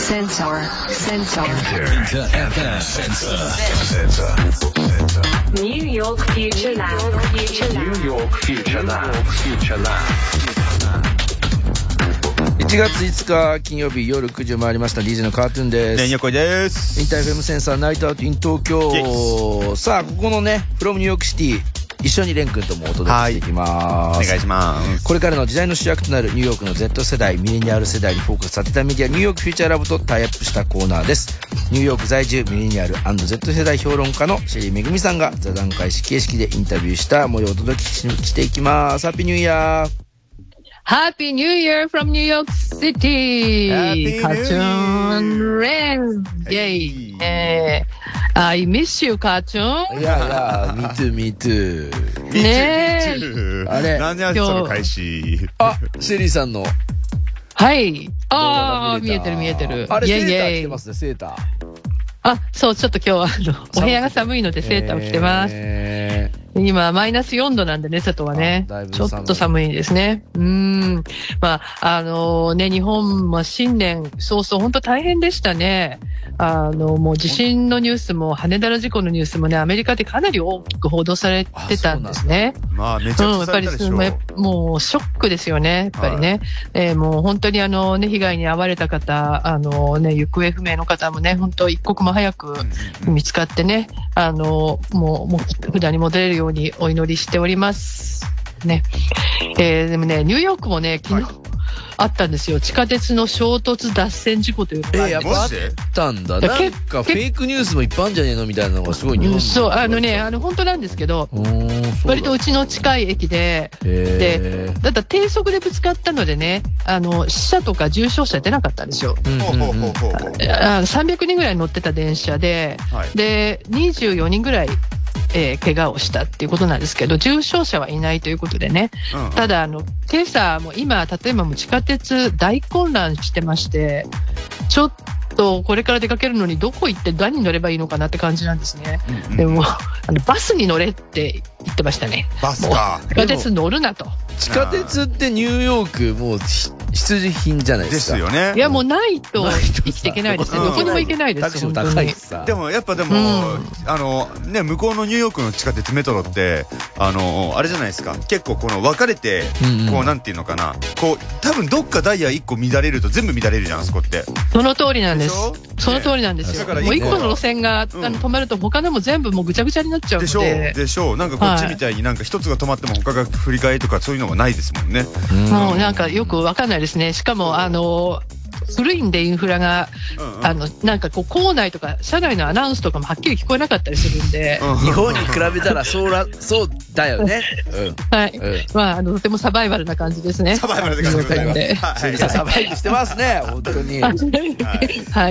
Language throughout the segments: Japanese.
Sensor. New York Future Lab. New York Future Lab. 1月5日金曜日夜9時を回りました。 DJ のカートゥーンです。 ねんよこいです。 インター FM センサーナイトアウトイン東京。さあここのねフロムニューヨークシティ一緒にレン君ともお届けしていきます。 お願いします。 これからの時代の主役となるニューヨークの Z 世代ミレニアル世代にフォーカスさせたメディアニューヨークフューチャーラブとタイアップしたコーナーです。ニューヨーク在住ミレニアル&Z 世代評論家のシェリーめぐみさんが座談会形式でインタビューした模様をお届けしていきます。ハッピーニューイヤー。 Happy New Year from New York City! Happy Cartoon Rain! Yay! I miss you, Cartoon! いや、me too. ねえ。 あれ何やその開始。 あ、シェリーさんの。 はい。見えてる。 あれ、セーター着てますね、セーター。 あ、そう、ちょっと今日はお部屋が寒いのでセーターを着てます。今、マイナス4度なんでね、外はね。ちょっと寒いですね。まあ、日本も新年早々、本当大変でしたね。もう地震のニュースも、羽田の事故のニュースもね、アメリカでかなり大きく報道されてたんですね。 まあ、めちゃくちゃされたでしょ。 やっぱり、もうショックですよね、やっぱりね。もう本当に被害に遭われた方、行方不明の方もね、本当一刻も早く見つかってね、もう普段に戻れるようにお祈りしておりますね。でもね、ニューヨークもね、昨日あったんですよ。地下鉄の衝突脱線事故というか。 やっぱあったんだ。なんかフェイクニュースもいっぱいあるんじゃねえのみたいなのがすごい日本そう、本当なんですけど、割とうちの近い駅で、だったら低速でぶつかったのでね、死者とか重傷者出なかったんですよ。300人ぐらい乗ってた電車で、で、24人ぐらい、怪我をしたっていうことなんですけど、重傷者はいないということでね。ただ、今朝も今、例えばもう地下鉄大混乱してまして、ちょっとこれから出かけるのにどこ行って何に乗ればいいのかなって感じなんですね。でも、バスに乗れって言ってましたね。 バスか。 地下鉄乗るなと。 地下鉄ってニューヨークもう必需品じゃないですか。 ですよね。 いやもうないと生きていけないですね。どこにも行けないですよ。 タクシーも高いしさ。 でもね、向こうのニューヨークの地下鉄メトロってあれじゃないですか。結構この分かれて、こうなんていうのかな、こう多分どっかダイヤ1個乱れると全部乱れるじゃん、あそこって。 その通りなんです。その通りなんですよ。もう1個の路線が止まると他のも全部もうぐちゃぐちゃになっちゃうので。 でしょう。なんかこっちみたいになんか一つが止まっても他が振り替えとかそういうのがないですもんね。 もうなんかよくわかんないですね。しかも古いんでインフラが、なんかこう構内とか車内のアナウンスとかもはっきり聞こえなかったりするんで、 日本に比べたらそうだよね。 はい。まあとてもサバイバルな感じですね。 サバイバルな感じで。 サバイブしてますね、本当に。 はい。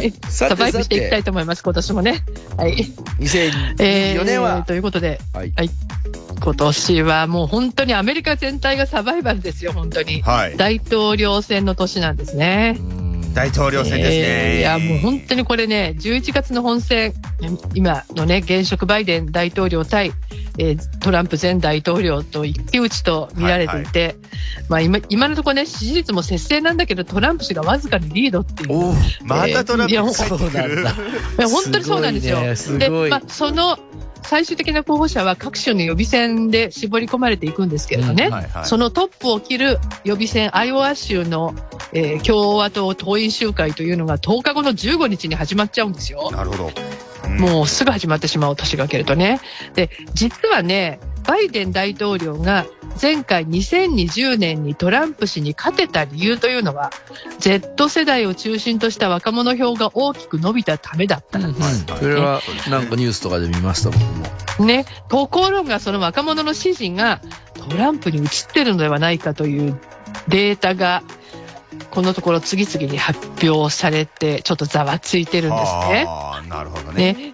サバイブしていきたいと思います、今年もね。はい。 2024年はということで、はい。今年はもう本当にアメリカ全体がサバイバルですよ、本当に。大統領選の年なんですね。 大統領選ですね。 いやもう本当にこれね、11月の本選、今のね、現職バイデン大統領対、トランプ前大統領と一騎打ちと見られていて、まあ今のところね、支持率も接戦なんだけど、トランプ氏がわずかにリードっていう。 またトランプ氏そうなんだ。 いや本当にそうなんですよ。で、その最終的な候補者は各種の予備選で絞り込まれていくんですけれどね、そのトップを切る予備選、アイオワ州の、共和党党員集会というのが10日後の15日に始まっちゃうんですよ。 なるほど。 もうすぐ始まってしまう、年が明けるとね。で、実はね、バイデン大統領が前回2020年にトランプ氏に勝てた理由というのは Z 世代を中心とした若者票が大きく伸びたためだったんです、 それはなんかニュースとかで見ました僕もね。ところがその若者の支持がトランプに移ってるのではないかというデータがこのところ次々に発表されてちょっとざわついてるんですね。 なるほどね。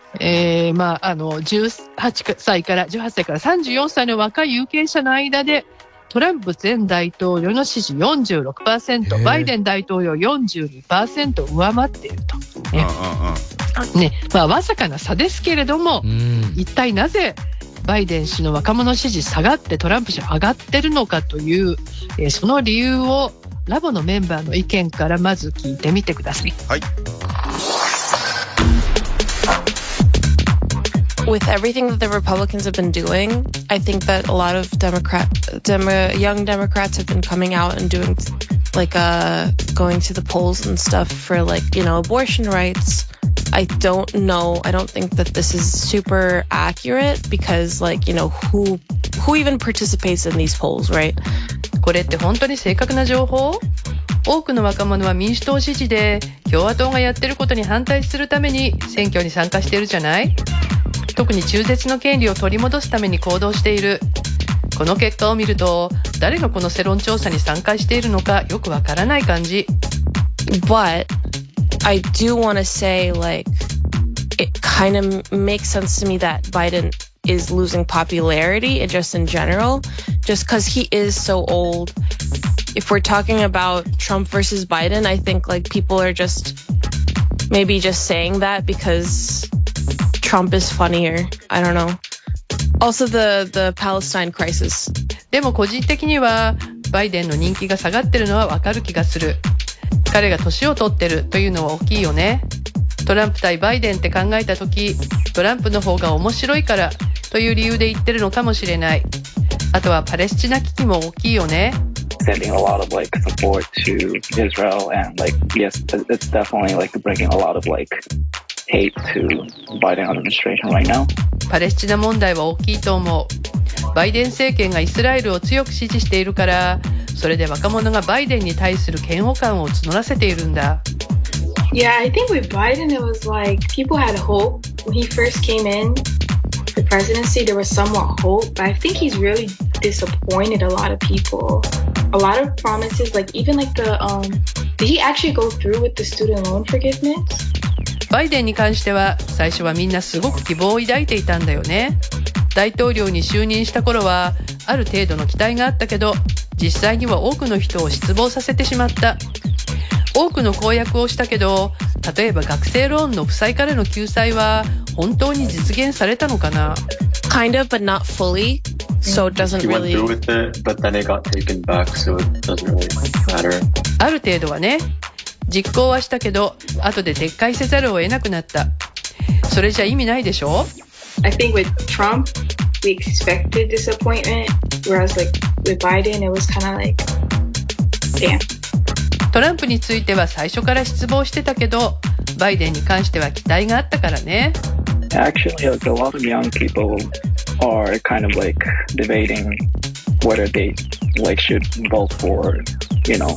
18歳から34歳の若い有権者の間でトランプ前大統領の支持 46%、バイデン大統領 42% 上回っていると。わずかな差ですけれども、一体なぜバイデン氏の若者支持下がってトランプ氏上がってるのかという、その理由をラボのメンバーの意見からまず聞いてみてください。 はい。 with everything that the Republicans have been doing, I think that a lot of young Democrats have been coming out and doing like going to the polls and stuff for like, you know, abortion rights. I don't know. I don't think that this is super accurate because like, you know, who even participates in these polls, right? これって本当に正確な情報？多くの若者は民主党支持で共和党がやってることに反対するために選挙に参加しているじゃない？特に中絶の権利を取り戻すために行動している。この結果を見ると誰がこの世論調査に参加しているのかよくわからない感じ。 But I do want to say like it kind of makes sense to me that Biden is losing popularity and just in general, just because he is so old. If we're talking about Trump versus Biden, I think like people are just maybe just saying that because Trump is funnier. I don't know. Also the Palestine crisis. でも個人的にはバイデンの人気が下がってるのはわかる気がする。彼が年を取ってるというのは大きいよね。トランプ対バイデンって考えたとき、トランプの方が面白いからという理由で言ってるのかもしれない。あとはパレスチナ危機も大きいよね。 Sending a lot of like support to Israel and like yes, it's definitely like bringing a lot of like hate to Biden administration right now. パレスチナ問題は大きいと思う。バイデン政権がイスラエルを強く支持しているから、それで若者がバイデンに対する嫌悪感を募らせているんだ。 Yeah, I think with Biden it was like people had hope when he first came in the presidency. There was somewhat hope, but I think he's really disappointed a lot of people. A lot of promises, like even like did he actually go through with the student loan forgiveness? バイデンに関しては最初はみんなすごく希望を抱いていたんだよね。大統領に就任した頃はある程度の期待があったけど、実際には多くの人を失望させてしまった。多くの公約をしたけど、例えば学生ローンの負債からの救済は本当に実現されたのかな？ Kind of, but not fully. So it doesn't really. He went through with it, but then it got taken back, so it doesn't really matter. ある程度はね、実行はしたけど、後で撤回せざるを得なくなった。それじゃ意味ないでしょ？ I think with Trump, we expected disappointment, whereas like with Biden, it was kind of like, damn. トランプについては最初から失望してたけど、バイデンに関しては期待があったからね。 Actually, like, a lot of young people are kind of like debating whether they like should vote for, you know.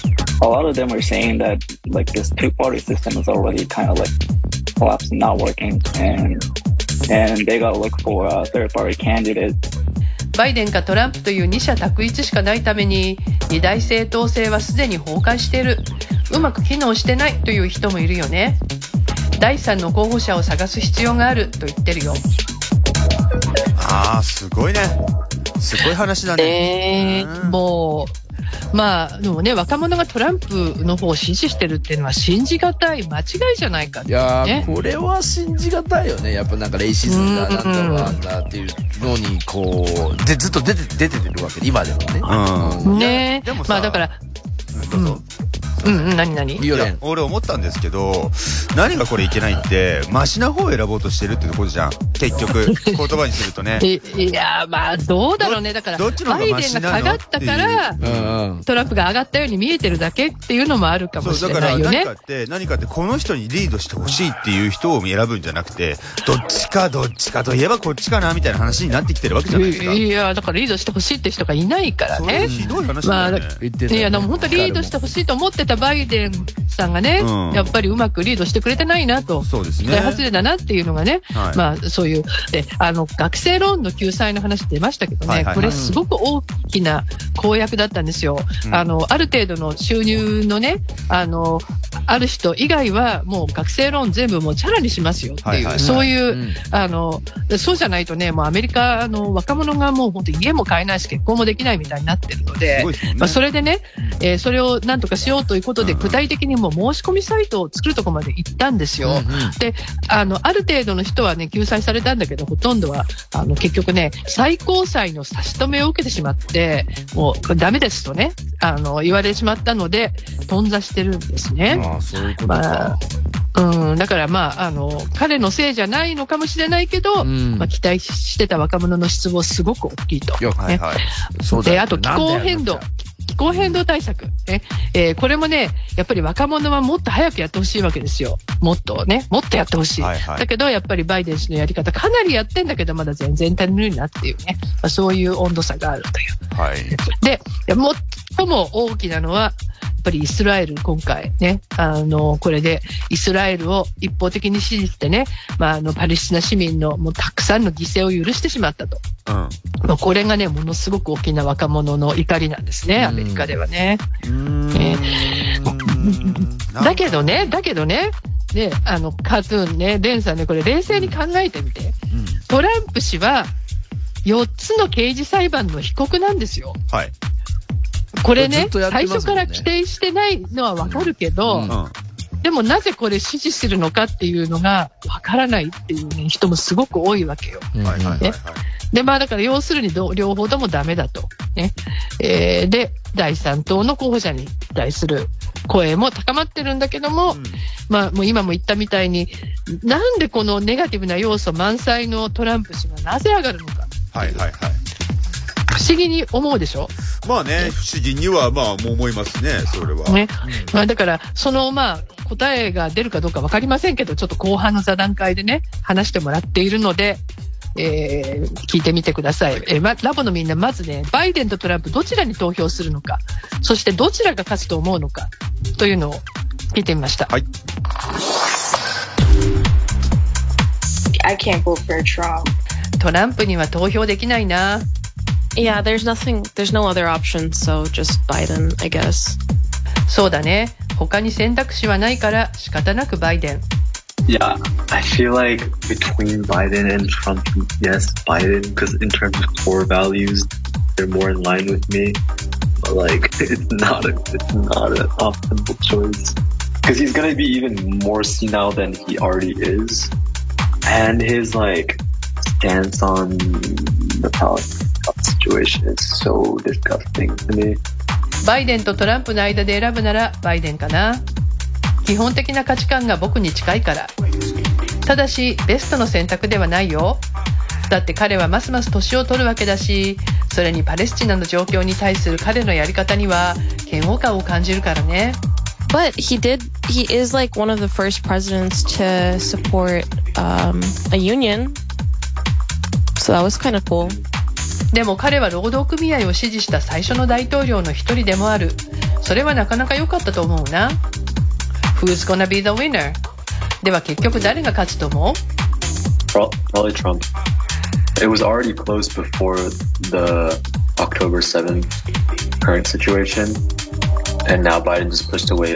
A lot of them are saying that like this two-party system is already kind of like collapsed and not working, and they gotta look for a third-party candidate. バイデンかトランプという二者択一しかないために二大政党制はすでに崩壊している。うまく機能してないという人もいるよね。第三の候補者を探す必要があると言ってるよ。 ああ、すごいね。すごい話だね。 もうまあでもね、若者がトランプの方を支持してるっていうのは信じがたい間違いじゃないかって、ね、 いやこれは信じがたいよね。やっぱなんかレイシズムだなんだなんだっていうのにこうでずっと出てるわけで今でもね。 ね、 でもまあだから何いや俺思ったんですけど、何がこれいけないってマシな方を選ぼうとしてるってことじゃん結局言葉にするとね。 いやまあどうだろうね。だからバイデンが下がったからトランプが上がったように見えてるだけっていうのもあるかもしれないよね。 だから何かってこの人にリードしてほしいっていう人を選ぶんじゃなくて、どっちかといえばこっちかなみたいな話になってきてるわけじゃないですか。 いやだからリードしてほしいって人がいないからね。 それひどい話だよね。 いやでも本当リードしてほしいと思ってたバイデンさんがね、やっぱりうまくリードしてくれてないなと、 そうですね、 期待外れだなっていうのがね、はい、まあそういうで学生ローンの救済の話出ましたけどね、これすごく大きな公約だったんですよ。ある程度の収入のねある人以外はもう学生ローン全部もうチャラにしますよっていう、そういうそうじゃないとね、もうアメリカの若者がもう本当に家も買えないし結婚もできないみたいになってるので、まあ、それでね、それをなんとかしようということで具体的にもう申し込みサイトを作るところまで行ったんですよ。である程度の人はね救済されたんだけど、ほとんどは結局ね最高裁の差し止めを受けてしまってもうダメですとね言われてしまったので頓挫してるんですね。 そういうことか。 だから彼のせいじゃないのかもしれないけど、期待してた若者の失望すごく大きいと。 はいはい。 で、あと気候変動対策、これもね、やっぱり若者はもっと早くやってほしいわけですよ。もっとやってほしい。だけど、やっぱりバイデン氏のやり方、かなりやってんだけど、まだ全然足りないなっていうね、そういう温度差があるという。で、最も大きなのは、やっぱりイスラエル、今回ね、これでイスラエルを一方的に支持してね、パレスチナ市民のもうたくさんの犠牲を許してしまったと。これがね、ものすごく大きな若者の怒りなんですね、アメリカではね。だけどね、カートゥーンね、レンさんね、これ冷静に考えてみて。トランプ氏は4つの刑事裁判の被告なんですよ。はい。これね、最初から規定してないのはわかるけど、でもなぜこれ支持するのかっていうのがわからないっていう、ね、人もすごく多いわけよ。で、だから要するに両方ともダメだと。ね。で、第3党の候補者に対する声も高まってるんだけども、もう今も言ったみたいに、なんでこのネガティブな要素満載のトランプ氏がなぜ上がるのか。不思議に思うでしょ。 不思議にはもう思いますね、それは。ね。 だから、その答えが出るかどうか分かりませんけど、ちょっと後半の座談会でね、話してもらっているので、聞いてみてください。ラボのみんな、まずね、バイデンとトランプどちらに投票するのか、そしてどちらが勝つと思うのかというのを聞いてみました。はい。 I can't vote for Trump. トランプには投票できないな。 Yeah, there's no other option, so just Biden, I guess. そうだね。他に選択肢はないから仕方なくバイデン。 Yeah, I feel like between Biden and Trump, yes, Biden, because in terms of core values, they're more in line with me. But it's not an optimal choice. Because he's gonna be even more senile than he already is. And his, stance on the Palestine situation is so disgusting to me. バイデンとトランプの間で選ぶならバイデンかな。基本的な価値観が僕に近いから。ただしベストの選択ではないよ。だって彼はますます年を取るわけだし、それにパレスチナの状況に対する彼のやり方には嫌悪感を感じるからね。 But he is one of the first presidents to support a union. So that was kind of cool. でも彼は労働組合を支持した最初の大統領の一人でもある。それはなかなか良かったと思うな。Who's gonna be the winner? では結局誰が勝つと思う？ Probably Trump. It was already close before the October 7th current situation. And now Biden just pushed away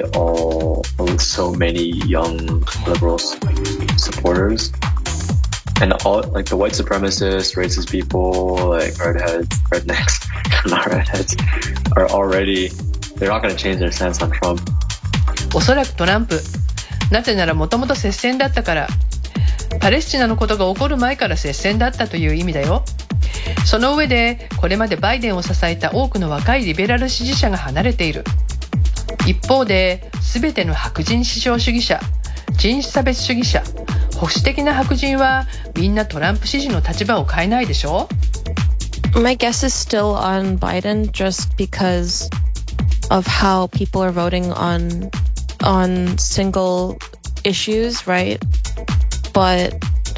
so many young liberal supporters. And all, the white supremacists, racist people, rednecks, not redheads, are already, they're not going to change their stance on Trump. おそらくトランプ。なぜならもともと接戦だったから。パレスチナのことが起こる前から接戦だったという意味だよ。その上で、これまでバイデンを支えた多くの若いリベラル支持者が離れている。一方で、すべての白人至上主義者、人種差別主義者、保守的な白人はみんなトランプ支持の立場を変えないでしょ？ My guess is still on Biden just because of how people are voting on single issues, right? But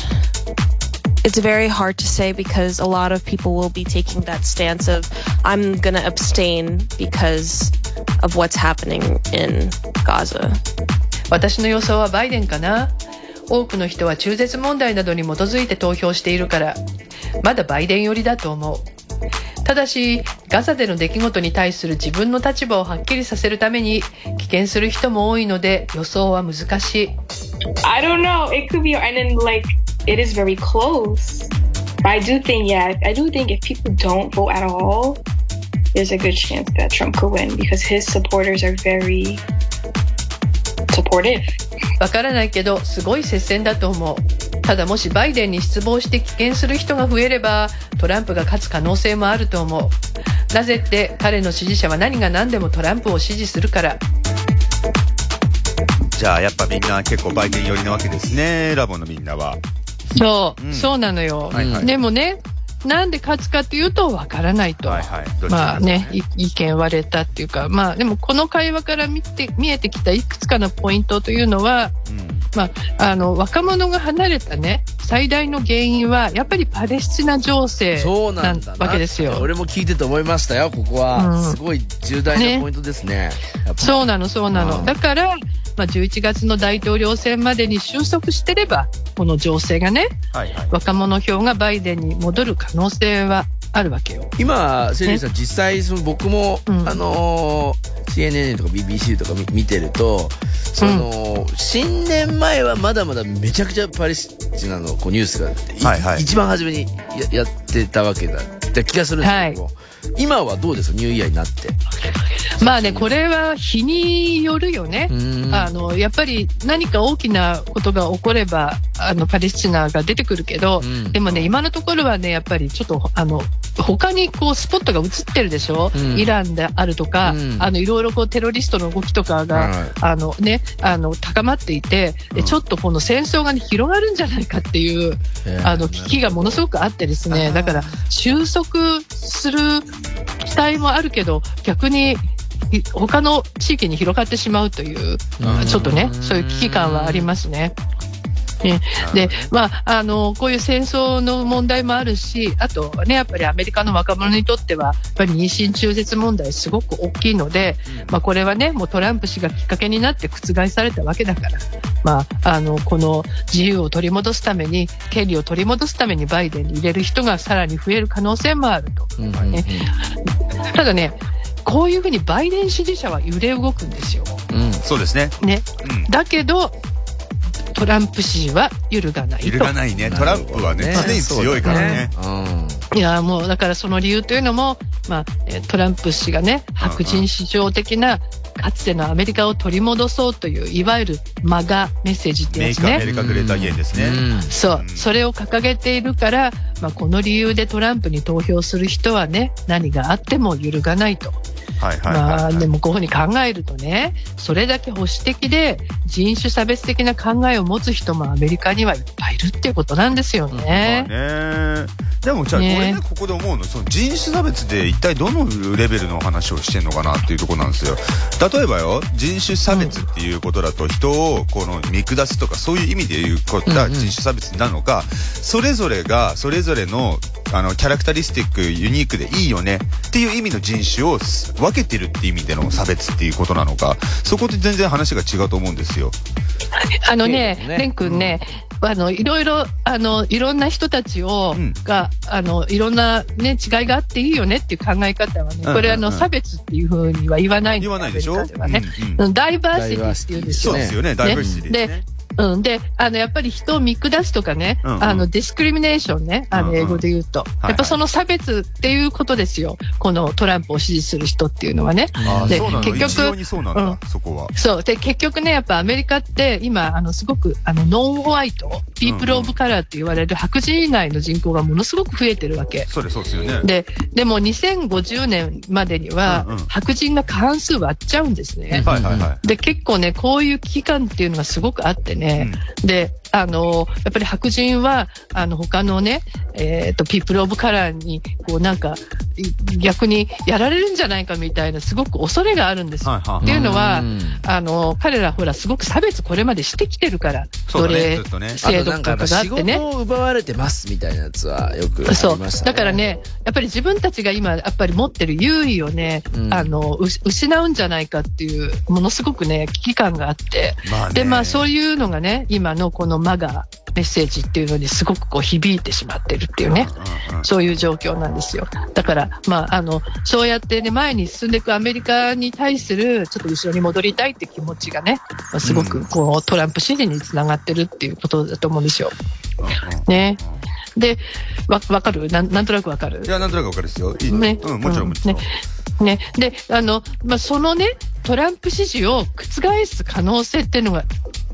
it's very hard to say because a lot of people will be taking that stance of I'm gonna abstain because of what's happening in Gaza. 私の予想はバイデンかな。多くの人は中絶問題などに基づいて投票しているから、まだバイデン寄りだと思う。ただし、ガザでの出来事に対する自分の立場をはっきりさせるために棄権する人も多いので予想は難しい。 I don't know. It could be, and then it is very close. But I do think if people don't vote at all, there's a good chance that Trump could win because his supporters are very supportive. わからないけどすごい接戦だと思う。ただもしバイデンに失望して棄権する人が増えればトランプが勝つ可能性もあると思う。なぜって彼の支持者は何が何でもトランプを支持するから。 じゃあやっぱみんな結構バイデン寄りなわけですね、ラボのみんなは。 そう、そうなのよ。でもね、なんで勝つかというとわからないと。まあね、意見割れたっていうか、まあでもこの会話から見えてきたいくつかのポイントというのは、まあ、若者が離れたね、最大の原因はやっぱりパレスチナ情勢なわけですよ。 俺も聞いてて思いましたよ、ここは。すごい重大なポイントですね。 そうなの。だから、まあ、11月の大統領選までに収束してれば、この情勢がね、若者票がバイデンに戻る可能性はあるわけよ。 今、セリーさん、実際僕も、CNN とか BBC とか見てると、新年前はまだまだめちゃくちゃパレスチナのニュースが、一番初めに やってたわけだって気がするんですけど、今はどうですか、ニューイヤーになって。 まあね、これは日によるよね。やっぱり何か大きなことが起こればパレスチナが出てくるけど、でもね、今のところはね、やっぱりちょっと他にこうスポットが映ってるでしょ、イランであるとか、いろいろこうテロリストの動きとかが、高まっていて、ちょっとこの戦争が、ね、広がるんじゃないかっていう危機がものすごくあってですね、だから収束する期待もあるけど、逆に他の地域に広がってしまうという、ちょっとね、そういう危機感はありますね。で、まあ、こういう戦争の問題もあるし、あとね、やっぱりアメリカの若者にとっては、やっぱり妊娠中絶問題すごく大きいので、まあ、これはね、もうトランプ氏がきっかけになって覆されたわけだから、まあ、この自由を取り戻すために、権利を取り戻すためにバイデンに入れる人がさらに増える可能性もあると。ただね、こういうふうにバイデン支持者は揺れ動くんですよ。 そうですね。 だけど、トランプ支持は揺るがないと。 揺るがないね。トランプはね、常に強いからね。 いや、もうだからその理由というのも、まあ、トランプ氏がね、白人至上的なかつてのアメリカを取り戻そうという、いわゆるマガメッセージってやつね。 メイクアメリカグレーターゲインですね。 それを掲げているから、まあ、この理由でトランプに投票する人はね、何があっても揺るがないと。でもこういうふうに考えるとね、それだけ保守的で人種差別的な考えを持つ人もアメリカにはいっぱいいるっていうことなんですよね。 でもじゃあ、俺ね、ここで思うの、その人種差別で一体どのレベルの話をしてんのかなっていうところなんですよ。例えばよ、人種差別っていうことだと、人をこの見下すとか、そういう意味で言うことが人種差別なのか、それぞれがそれぞれのキャラクタリスティック、ユニークでいいよねっていう意味の人種を分けてるっていう意味での差別っていうことなのか、そこで全然話が違うと思うんですよ。 レン君ね、いろいろいろんな人たちがいろんなね違いがあっていいよねっていう考え方はね、これ差別っていうふうには言わないんですよ。 言わないでしょ。 ダイバーシティっていうんですよね。 そうですよね。ダイバーシティですね。 で、やっぱり人を見下すとかね、ディスクリミネーションね、英語で言うと。やっぱその差別っていうことですよ。このトランプを支持する人っていうのはね。 で、結局、そうなんだ、そこは。 そう。で、結局ね、やっぱアメリカって今、すごく、ノンホワイト、ピープルオブカラーって言われる白人以外の人口がものすごく増えてるわけ。 そうですよね。 でも2050年までには、白人が過半数割っちゃうんですね。で、結構ね、こういう危機感っていうのがすごくあってね、で、やっぱり白人は、他のね、ピープルオブカラーに、こうなんか、逆にやられるんじゃないかみたいな、すごく恐れがあるんですよ。っていうのは、彼らほら、すごく差別これまでしてきてるから、奴隷制度とかがあってね。 仕事を奪われてますみたいなやつはよくありましたね。 そう。だからね、やっぱり自分たちが今、やっぱり持ってる優位をね、失うんじゃないかっていう、ものすごくね、危機感があって、で、まあそういうのがね、今のこのマガメッセージっていうのにすごくこう響いてしまってるっていうね、そういう状況なんですよ。だから、まあ、そうやってね、前に進んでいくアメリカに対するちょっと後ろに戻りたいって気持ちがね、すごくこうトランプ支持につながってるっていうことだと思うんですよ。ね。で、わかる？なんとなくわかる？ いや、なんとなくわかるですよ。ね。もちろん。 ね。で、まあ、そのね、トランプ支持を覆す可能性っていうのが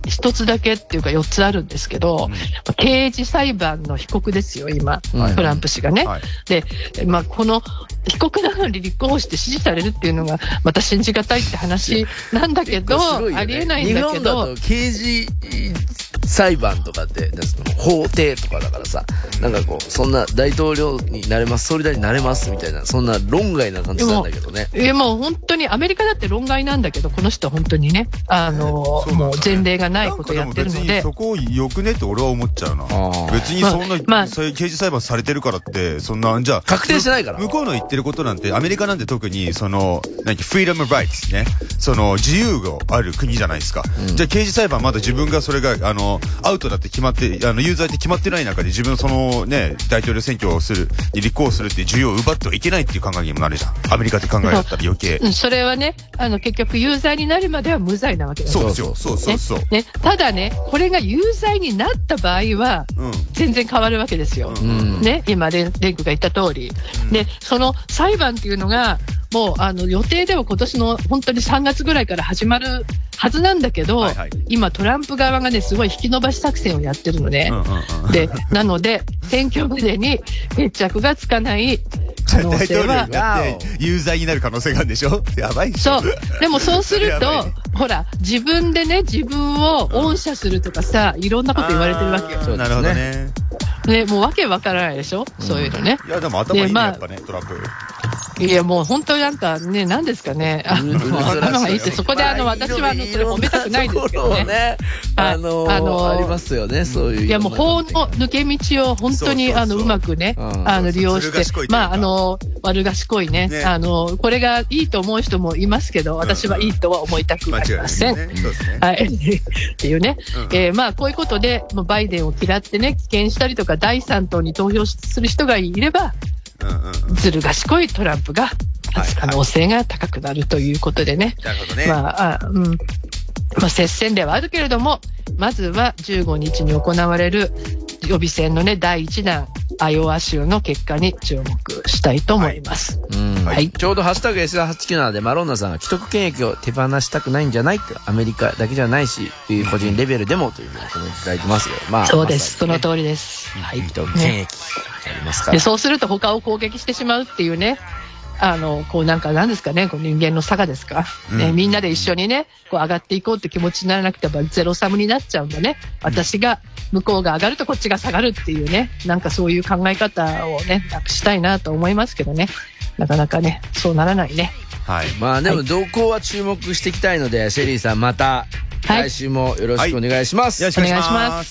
1つだけっていうか4つあるんですけど、刑事裁判の被告ですよ、今、トランプ氏がね。で、この被告なのに立候補して支持されるっていうのが、また信じがたいって話なんだけど、ありえないんだけど。 日本だと刑事裁判とかって、法廷とかだからさ、なんかこう、そんな大統領になれます、総理大臣になれますみたいな、そんな論外な感じなんだけどね。 もう本当に、アメリカだって論外なんだけど、この人は本当にね、もう前例がないことをやってるので。 別にそこよくねって俺は思っちゃうな。別にそんな、刑事裁判されてるからって、そんな、じゃあ、 確定してないから。 向こうの言ってることなんて、アメリカなんて特に、フリーダムライツね、自由がある国じゃないですか。じゃあ刑事裁判まだ自分がそれが、アウトだって決まって、有罪って決まってない中で自分大統領選挙をに立候補するっていう自由を奪ってはいけないっていう考えにもなるじゃん。アメリカって考えだったら余計。 それはね、結局有罪になるまでは無罪なわけだそうですよ。そう。 ね、ただね、これが有罪になった場合は、全然変わるわけですよ。ね、今、レンクが言った通り。で、その裁判っていうのが、もう予定では今年の本当に3月ぐらいから始まるはずなんだけど、今トランプ側がねすごい引き延ばし作戦をやってるのね。で、なので選挙までに決着がつかない可能性は大統領になって有罪になる可能性があるんでしょ。やばいでしょ。 そう。でもそうするとほら自分でね自分を恩赦するとかさ、いろんなこと言われてるわけよ。 なるほどね。 ね、もうわけわからないでしょ、そういうのね。 いやでも頭いいね、やっぱね、トランプ。 いやもう本当になんかね、なんですかね、頭がいいって、そこで私はそれ褒めたくないですけどね。 ありますよね、そういう。 いやもう法の抜け道を本当にうまくね、利用して、悪賢いね、これがいいと思う人もいますけど、私はいいとは思いたくありません。はい。っていうね。こういうことで、バイデンを嫌ってね、棄権したりとか、第3党に投票する人がいれば、ずる賢いトランプが勝つ可能性が高くなるということでね。 なるほどね。 接戦ではあるけれども、まずは15日に行われる予備選のね、第1弾、アイオワ州の結果に注目したいと思います。 ちょうどハッシュタグ S897 でマロンナさんが既得権益を手放したくないんじゃないって、アメリカだけじゃないし、個人レベルでもというふうにコメントいただいてますよ。 そうです。その通りです。 既得権益ありますから。 で、そうすると他を攻撃してしまうっていうね。なんですかね、人間の差がですか、みんなで一緒にね、上がっていこうって気持ちにならなくてはゼロサムになっちゃうんだね。私が、向こうが上がるとこっちが下がるっていうね、なんかそういう考え方をね、なくしたいなと思いますけどね。なかなかね、そうならないね。 はい。でも動向は注目していきたいので、シェリーさんまた、来週もよろしくお願いします。 よろしくお願いします。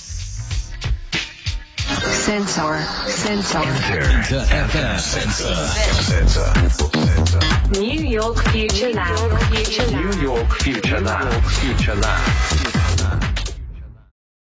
Sensor. New York Future Lab. New York Future Lab.